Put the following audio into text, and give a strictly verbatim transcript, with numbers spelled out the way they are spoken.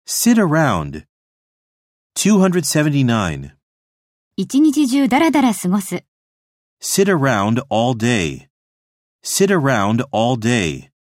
Sit around. two seventy-nine. 一日中だらだら過ごす。 Sit around all day. Sit around all day.